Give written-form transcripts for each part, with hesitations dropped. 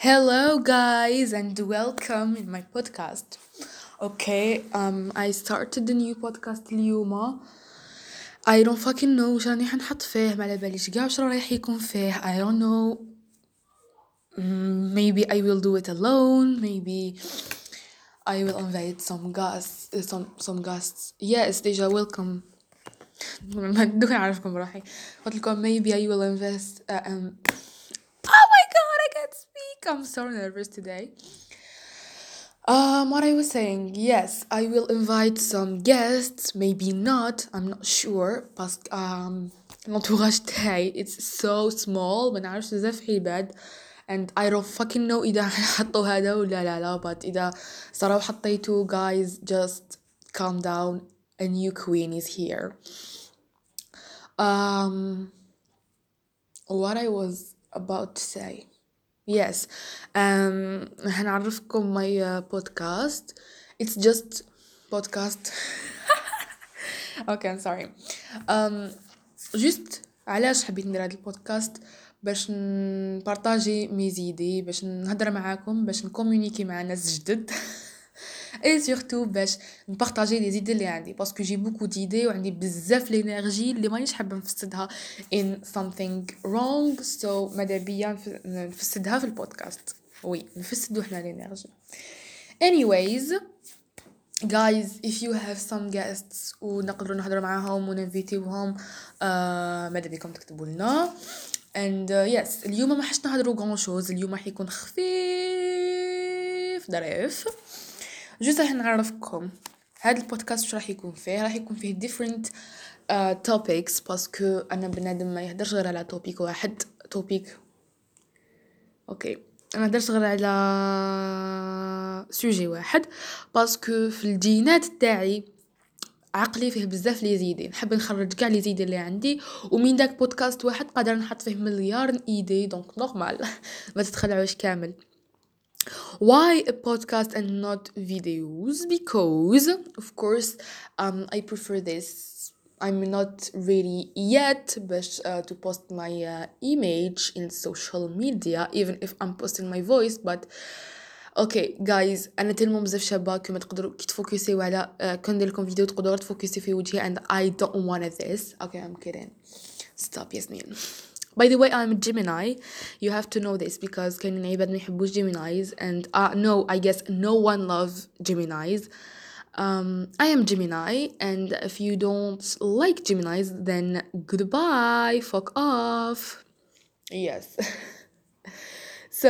Hello, guys, and welcome in my podcast. Okay, I started a new podcast اليوم. I don't fucking know وش راني حنحط فيه، ما على باليش قاع وش رايح يكون فيه. I don't know. Maybe I will do it alone. Maybe I will invite some guests. Some guests. Yes, déjà welcome. ما دوكا نعرفكم بروحي. قلت لكم maybe I will invest. Oh my god, I can't speak. I'm so nervous today. What I was saying, yes, I will invite some guests, maybe not, I'm not sure, بس l'entourage تاعي it's so small ما نعرفش بزاف عباد and I don't fucking know إذا حطوا هذا ولا لا but إذا صراو حطيتوا guys just calm down, a new queen is here. What I was about to say. Yes. هنعرفكم my podcast. It's just podcast. Okay, I'm sorry. Just علاش حبيت ندير هذا البودكاست باش نبارطاجي ميزيدي باش نهضر معاكم باش نكومونيكي مع ناس جدد اي سورتو باش نبارطاجي لي زيدي اللي عندي باسكو جي بوكو ديدي وعندي بزاف لينيرجي اللي مانيش حابه نفسدها in something wrong so ماذا بيا نفسدها في البودكاست. وي نفسدو حنا لينيرجي. anyways guys, if you have some guests ونقدروا نهضروا معاهم وننفيتيوهم ماذا بكم تكتبوا لنا. and yes اليوم ما حش نهضروا غون شوز. اليوم راح يكون خفيف ظريف. جوست راح نعرفكم هذا البودكاست واش راح يكون فيه. راح يكون فيه different topics باسكو انا بنادم ما يهدرش غير على توبيك واحد. توبيك اوكي انا درت غير على سوجي واحد باسكو في الجينات تاعي عقلي فيه بزاف لي زيدي نحب نخرج كاع لي زيدي اللي عندي ومن داك بودكاست واحد قادر نحط فيه مليار ايدي دونك نورمال ما تتخلعوش كامل. Why a podcast and not videos? Because of course I prefer this. I'm not ready yet but to post my image in social media even if I'm posting my voice but اوكي جايز انا تلمو بزاف شابه كما تقدروا كي تفوكسيو على كون ندير لكم فيديو تقدروا تفوكسيو في وجهي and I don't want this. Okay, I'm kidding. Stop ياسمين. By the way, I'm a Gemini. You have to know this because كاينين عباد ما يحبوش Geminis and no, I guess no one loves Geminis. I am Gemini and if you don't like Geminis then goodbye, fuck off. Yes. So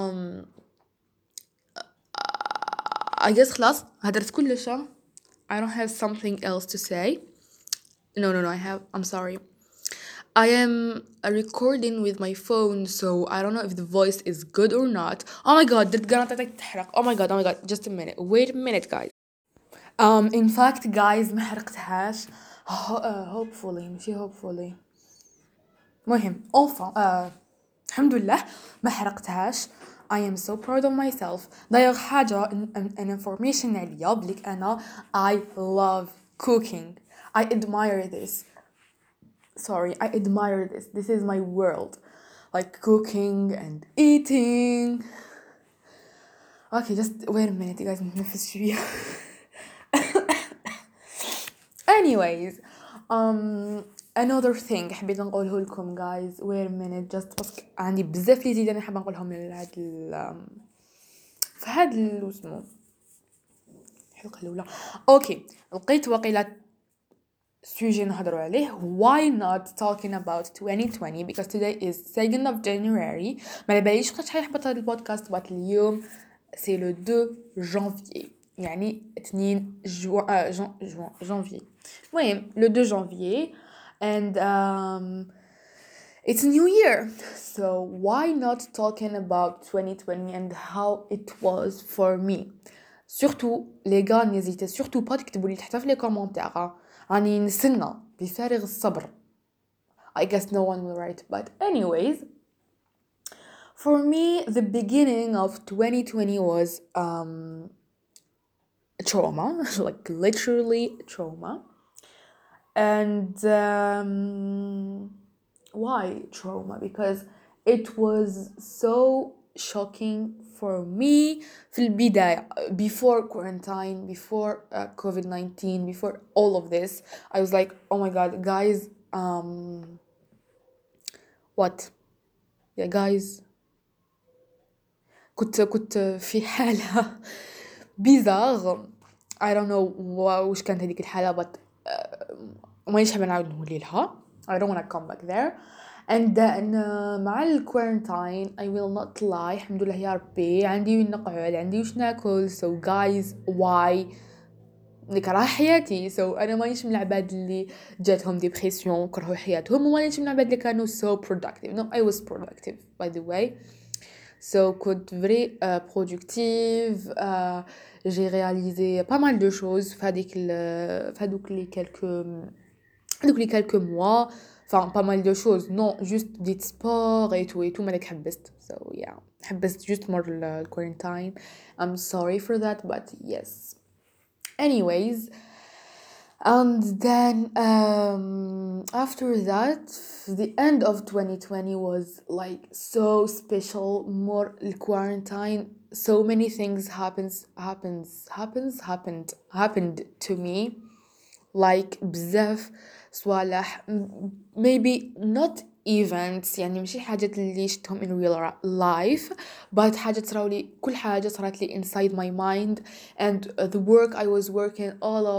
I guess خلاص هدرت كلش. I don't have something else to say. No, I have. I'm sorry. I am recording with my phone, so I don't know if the voice is good or not. Oh my god, did قناتك تحرق. Oh my god. Just a minute. Wait a minute, guys. In fact, guys ما حرقتهاش. Hopefully ماشي hopefully. مهم. Enfin, الحمد لله ما حرقتهاش. I am so proud of myself. داير حاجة an information عليا بليك أنا I love cooking. I admire this. Sorry, I admire this. This is my world. Like cooking and eating. Okay, just wait a minute, you guys. نتنفس شوية. Anyways, another thing حبيت نقوله لكم guys. Wait a minute, just بس عندي بزاف لي زيد أنا حابة نقولهم لهاد في هاد اسمه الحلقة الأولى. أوكي لقيت وقيلة سوجي نهضروا عليه. Why not talking about 2020 because today is 2nd of January. ما باليش وقت حيحبط هذا البودكاست بس اليوم سي لو 2 جانفي يعني 2 جانفي. المهم لو 2 جانفي and it's a new year so why not talking about 2020 and how it was for me. surtout les gars n'hésitez surtout pas تكتبوا لي تحت في les commentaires. راني نستنى بفارغ الصبر. I guess no one will write but anyways for me the beginning of 2020 was trauma like literally trauma. And why trauma? Because it was so shocking for me في البداية before quarantine, before COVID-19, before all of this. I was like, oh my god guys, what yeah guys, كنت في حالة بيزار. I don't know وش كانت هذيك الحالة but مانيش حابة نعاود نولي لها. I don't wanna come back there. and then مع الكورنتاين I will not lie, الحمد لله يا ربي عندي وين نقعد, عندي وش ناكل. so guys why نكره حياتي. so انا مانيش من العباد اللي جاتهم ديبريسيون كرهوا حياتهم, ومانيش من العباد اللي كانوا so productive. no, I was productive by the way. So كنت very productive. j'ai réalisé pas mal de choses في هذوك les quelques mois. enfin pas mal de choses, non juste des sports et tout مالك حبست. so yeah, حبست just more the quarantine. I'm sorry for that but yes. anyways, and then after that the end of 2020 was like so special. more quarantine, so many things happened to me, like بزاف صوالح. maybe not events, يعني ماشي حاجات اللي شفتهم in real life, but حاجات صراولي, كل حاجة صارت لي inside my mind. and the work I was working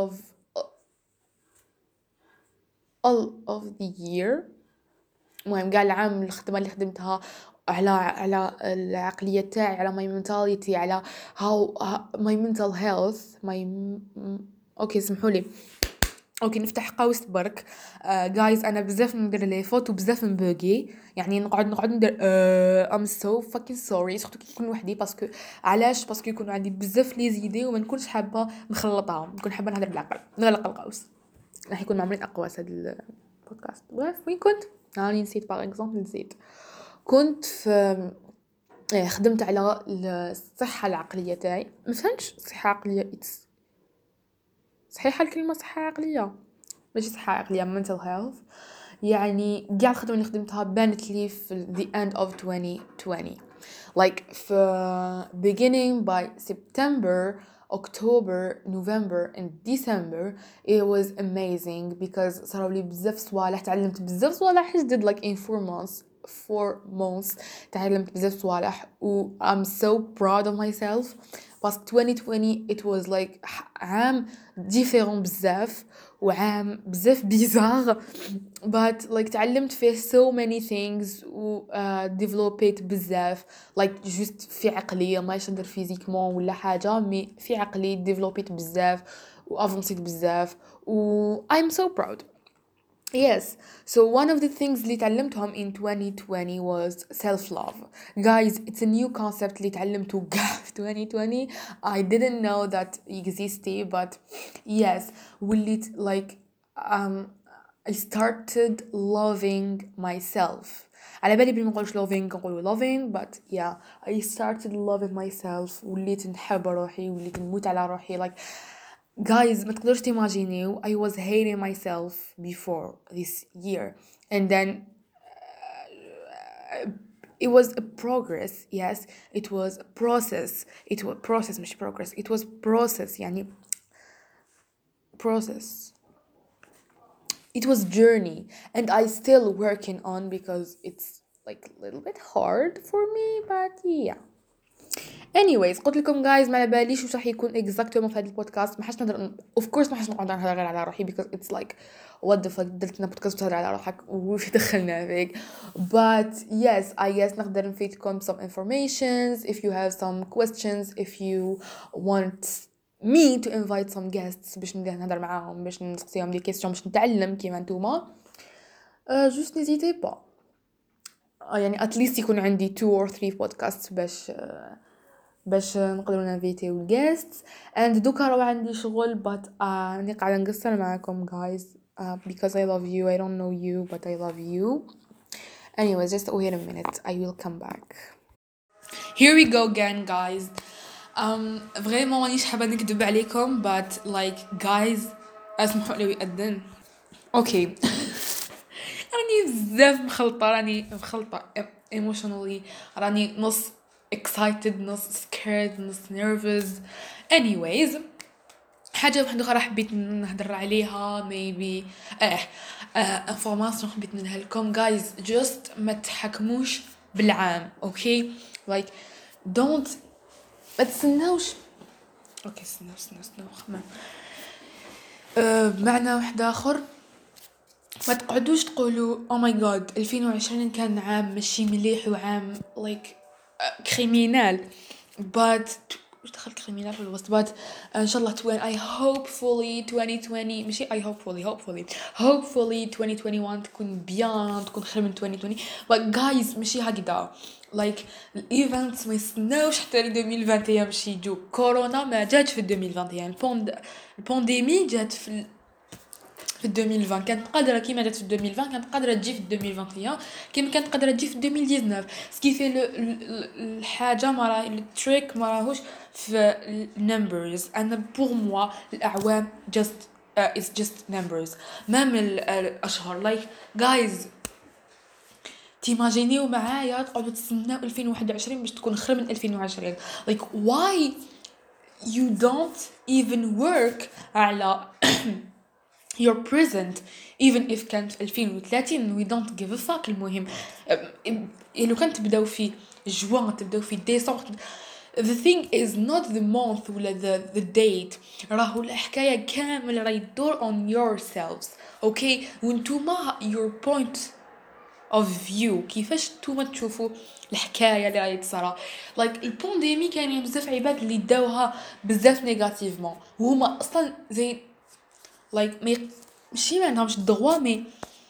all of the year, المهم قال العام الخدمة اللي خدمتها على العقلية تاعي, على my mentality, على how my mental health, اوكي سمحولي, اوكي نفتح قوس برك. جايز انا بزاف ندير لي فوت وبزاف نبوغي, يعني نقعد ندير I'm so fucking sorry, سورتو كي نكون وحدي. باسكو علاش؟ باسكو يكون عندي بزاف لي زيدي وما نكونش حابه نخلطها, نكون حابه نهضر بالعقل. نغلق القوس, راح يكون معمرين اقواس هذا البودكاست. وين كنت راني نسيت. باغ اكزومبل نسيت كنت في خدمت على الصحه العقليه تاعي. ما فهمتش صحه عقليه صحيحه الكلمه صحه عقليه؟ ماشي صحه عقليه, mental health. يعني كاع الخدمه اللي خدمتها بانت لي في the end of 2020, like في beginning by September, October, November and December. it was amazing because صاروا لي بزاف صوالح, تعلمت بزاف صوالح جدد. like in 4 months تعلمت بزاف صوالح و I'm so proud of myself. بس 2020 it was like عام différent بزاف, وعام بزاف bizarre, but like تعلمت فيه so many things و developed بزاف. like just في عقلية, ما يشدر فيزيكمون ولا حاجة, مي في عقلي developed بزاف و avanced بزاف و I'm so proud. yes, so one of the things اللي تعلمتهم in 2020 was self-love. guys, it's a new concept اللي تعلمته في 2020. I didn't know that existed, but yes, وليت like I started loving myself. على بالي بلي ما نقولش loving, نقولوا loving, but yeah, I started loving myself. وليت نحب روحي, وليت نموت على روحي. like guys, ما تقدرش تيماجينيو, I was hating myself before this year, and then it was a progress. yes, it was a process. it was process مش progress, it was process, يعني process. it was journey, and I still working on because it's like a little bit hard for me, but yeah. anyways, قلت لكم guys ما على باليش وش راح يكون exactly في هذا البودكاست. ما حاش نقدر of course ما حاش نقعد نهضر غير على روحي because it's like what the fuck, درت لنا بودكاست تهضر على روحك وش دخلنا فيك. but yes, I guess نقدر نفيدكم some informations if you have some questions, if you want me to invite some guests باش نهضر معاهم, باش نسقسيهم دي كيسيون, باش نتعلم كيما نتوما. just n'hésitez pas. يعني at least يكون عندي 2 or 3 podcasts باش نقدروا نانفيتيو الجيستس. and دوكا راه عندي شغل, but راني قاعده نقصر معاكم guys because I love you. I don't know you but I love you. anyways, just wait a minute, I will come back. here we go again guys. vraiment مانيش حابه نكذب عليكم, but like guys اسمحوا لي يأذن. اوكي راني بزاف مخلطه, راني مخلطه emotionally, راني نص excited نص scared نص nervous. anyways حاجة واحدة أخرى حبيت نهدر عليها maybe information حبيت نديها لكم guys. just ما تحكموش بالعام okay like don't ما تستناوش اوكي استناو خمام بمعنى واحد اخر ما تقعدوش تقولوا او ماي جاد 2020 كان عام ماشي مليح وعام like كريمينال but وش دخلت كريمينال في الوسط but ان شاء الله I hopefully 2020 ماشي I hopefully 2021 تكون بيان تكون خير من 2020 but guys ماشي هكذا like الايفنتس ما يستناوش حتى ل 2021 باش يجوا. كورونا ما جاتش في 2021 البانديمي جات في 2020 كانت قادره كيما جات في 2020 كانت قادره تجي في 2021 كيما كانت قادره تجي في 2019 سكيفي الحاجه ما راه التريك ما راهوش في النمبرز. انا بور موا الاعوام just it's just numbers ما من الاشهر like guys تيماجينيو معايا تقعدوا تستناو 2021 باش تكون خير من 2020 like why you don't even work على your present even if كانت 2030 we don't give a fuck. المهم لو كانت تبداو في جوان تبداو في ديسمبر the thing is not the month ولا the date راهو الحكاية كامل راهي تدور on yourselves okay وانتوما your point of view كيفاش نتوما تشوفوا الحكايه اللي راهي تصرا like البانديمي كاينين بزاف عباد اللي داوها بزاف نيجاتيفمون وهما اصلا زي like ماشي ما عندهمش الدغوا مي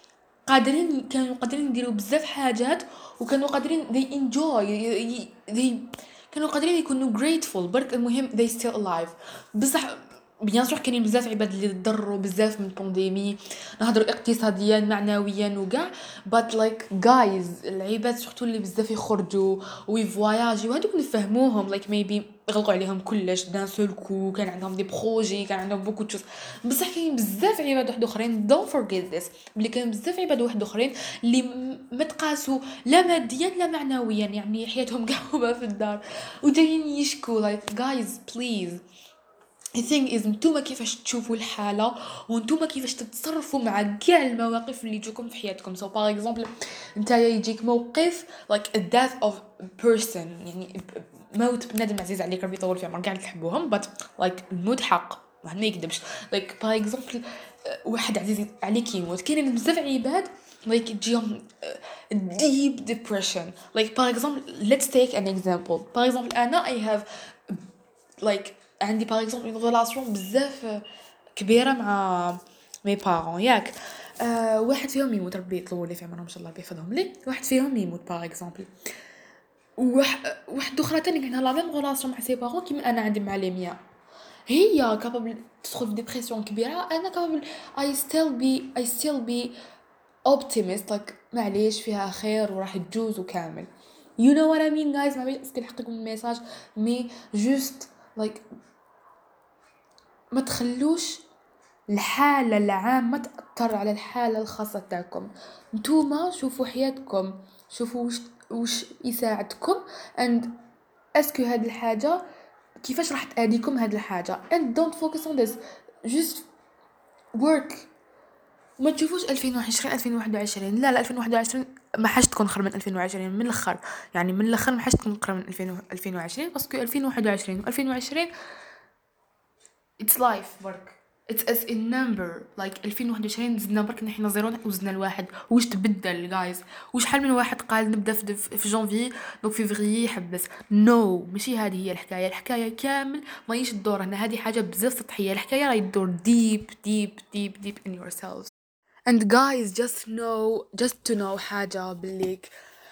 كانوا قادرين يديروا بزاف حاجات وكانوا قادرين they enjoy they كانوا قادرين يكونوا grateful برك المهم they still alive. بصح بيان سور كاينين بزاف عباد اللي ضروا بزاف من البانديمي نهضروا اقتصاديا معنويا وكاع but like guys العباد سورتو اللي بزاف يخرجوا ويفواياجيو هذوك نفهموهم like maybe غلقوا عليهم كلش دان سول كو كان عندهم دي بروجي كان عندهم بوكو تشوز. بصح كاين بزاف عباد واحد اخرين don't forget this بلي كاين بزاف عباد واحد اخرين اللي متقاسوا لا ماديا لا معنويا يعني حياتهم قاعوبه في الدار ودايرين يشكوا like guys please the thing is نتوما كيفاش تشوفوا الحالة ونتوما كيفاش تتصرفوا مع كاع المواقف اللي يجوكم في حياتكم. so for example نتايا يجيك موقف like a death of a person يعني موت بنادم عزيز عليك ربي يطول في عمرك كاع تحبوهم but like الموت حق ما يكذبش like for example واحد عزيز عليك يموت كاينين بزاف عباد like تجيهم deep depression like for example let's take an example for example أنا I have like عندي باغ اكزومبل اون ريلاسيون بزاف كبيره مع مي بارون ياك واحد فيهم يموت ربي يطول لي في عمرهم ان شاء الله بيحفظهم لي واحد فيهم يموت باغ اكزومبل واحد اخرى تاني عندها لا ميم ريلاسيون مع سي بارون كيما انا عندي مع ليميا هي كابابل تدخل في ديبرسيون كبيره انا كابابل I still be optimist like معليش فيها خير وراح تجوز وكامل you know what I mean guys ما بيش نحطكم الميساج مي just like ما تخلوش الحالة العامة تأثر على الحالة الخاصة تاعكم. نتوما شوفوا حياتكم شوفوا وش يساعدكم and اسكو هاد الحاجة كيفاش راح تأديكم هاد الحاجة and don't focus on this just work. ما تشوفوش 2021 لا 2021 ما حاش تكون خير من 2020 من الاخر يعني من الاخر ما حاش تكون خير من 2020 باسكو 2021 و2020 it's life برك it's as a number like 2021 زدنا برك نحنا زيرو وزدنا الواحد واش تبدل جايز وشحال من واحد قال نبدا في جانفي دونك فيفري يحبس نو ماشي هذه هي الحكايه كامل ماهيش تدور هنا هذه حاجه بزاف سطحيه الحكايه راهي تدور deep in yourselves and guys just to know حاجه بليك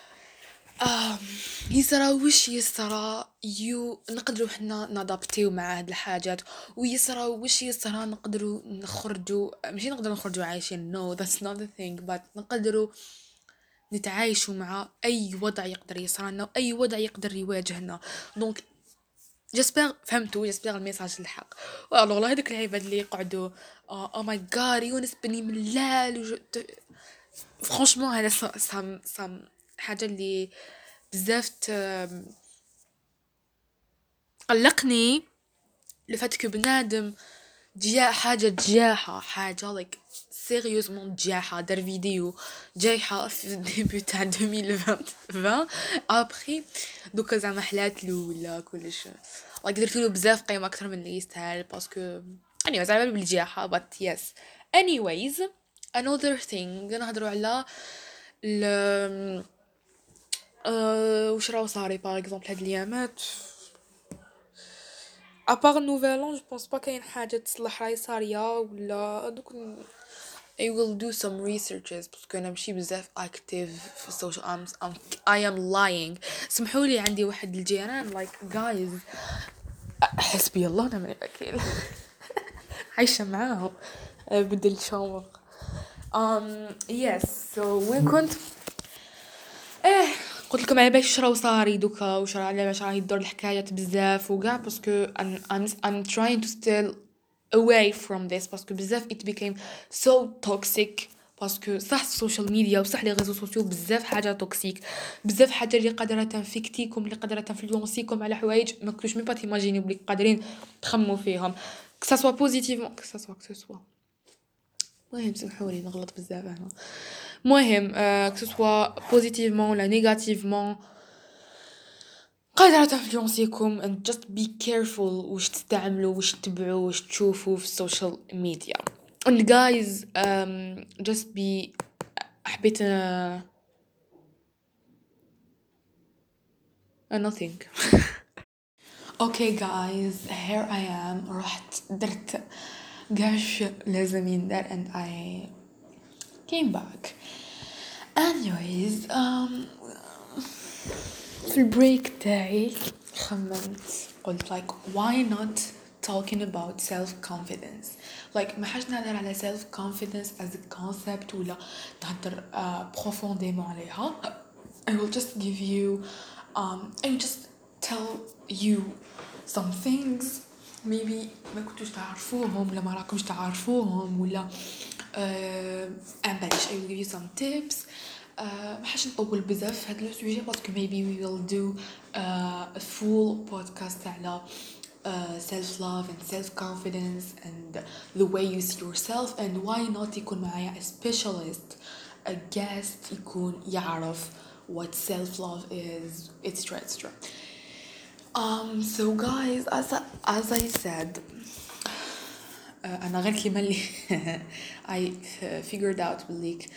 يسرى وش يسرى نقدروا حنا نادابتيو مع هاد الحاجات ويسرى وش يسرى نقدروا نخرجوا ماشي نقدروا نخرجوا عايشين no that's not the thing but نقدروا نتعايشوا مع اي وضع يقدر يصرالنا واي وضع يقدر يواجهنا. دونك جسبر فهمتوا جسبر الميساج الحق والله هذوك العباد اللي يقعدوا او ماي جاد يونس بني ملال فرانشمون هذا سام حاجه اللي بزاف قلقني لفات كو بنادم حاجة like سيريوزمون جاحة دار فيديو جايحة في الديبي تاع 2020 ابخي دوكا زعما حلاتلو ولا كلش like درتلو بزاف قيمة اكثر من اللي يستاهل باسكو اني زعما بالجاحة but yes anyways another thing نهضروا على ال وش راهو صاري باغ اكزومبل هاد الايامات ابار نوفل ان جو بونس با كاين حاجه تصلح راهي صاريه ولا دوك I will do some researches باسكو انا ماشي بزاف active في السوشيال I am lying سمحوا لي عندي واحد الجيران like guys حسبي الله ونعم الوكيل عايشه معاهم بدل شامبر yes so وين كنت قلت لكم على باش راهو صاري دوكا وش راه على باش راهي تدور الحكايات بزاف وكاع باسكو I'm trying to still away from this باسكو بزاف it became so toxic باسكو صح السوشيال ميديا وصح لي ريزو سوسيو بزاف حاجه توكسيك بزاف حاجه اللي قادره تنفيكتيكم اللي قادره تنفلونسيكم على حوايج ما كنتوش مي با تيماجينيو بلي قادرين تخمو فيهم كسا سوا بوزيتيفمون كسا سوا المهم سمحولي نغلط بزاف هنا مهم كسوا بوزيتيفمون ولا نيجاتيفمون قادرة تنفلونسيكم and just be careful واش تستعملوا واش تتبعوا واش تشوفوا في السوشيال ميديا and guys just be حبيت nothing okay guys here I am رحت درت قاش لازم يندر and I came back anyways في البريك تاعي خممت قلت like why not talking about self-confidence like ما حاجة نهضر على self-confidence as a concept ولا نهضر profondément عليها I will just give you I will just tell you some things maybe ما كنتوش تعرفوهم ولا ما راكمش تعرفوهم ولا بلاش I will give you some tips ما حاش نطول بزاف في هذا السوجي باسكو maybe we will do a full podcast على self love and self confidence and the way you see yourself and why not يكون معايا a specialist a guest يكون يعرف what self love is etc. So guys as I said أنا غير كلمة اللي I figured out بالليك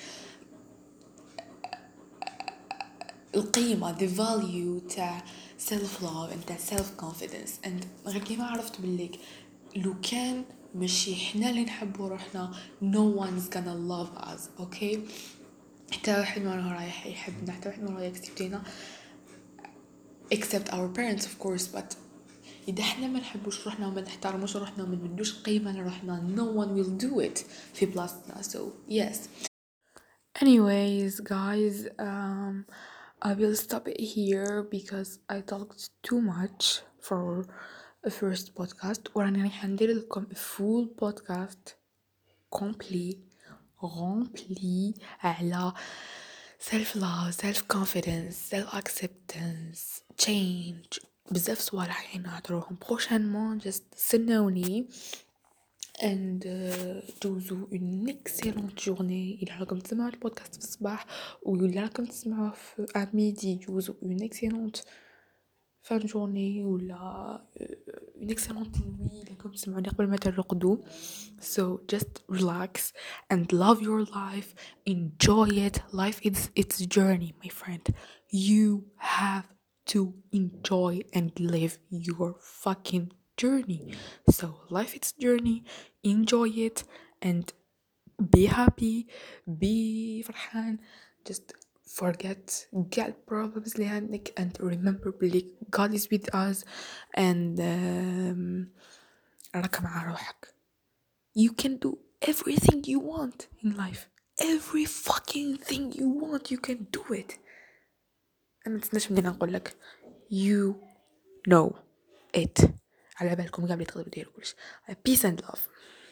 القيمة the value تاع self love and تاع self confidence and غير كيما عرفت بالليك لو كان ماشي حنا اللي نحبوا روحنا no one's gonna love us okay حتى واحد ما راح يحبنا حتى واحد ما راح يكسبتينا except our parents of course but إذا حنا ما نحبوش روحنا وما نحترموش روحنا وما ندوش قيمة لروحنا no one will do it في بلاصتنا so yes anyways guys I will stop it here because I talked too much for a first podcast وراني راح ندير لكم a full podcast rempli على self love self confidence self acceptance change بزاف صوالح راح نهضروهم prochainement just استناوني and دوزو une excellente journée إذا راكم تسمعوا البودكاست في الصباح ولا راكم تسمعوه في ميدي دوزو une excellente fin de journée ولا une excellente nuit إذا راكم تسمعوني قبل ما ترقدوا so just relax and love your life enjoy it life is its journey my friend you have to enjoy and live your fucking journey so life its journey enjoy it and be happy be فرحان just forget get problems اللي عندك and remember بلي God is with us and راك مع روحك you can do everything you want in life every fucking thing you want you can do it أنا متسناش مني نقول لك you know it على بالكم قبل تقدروا ديروا كلش peace and love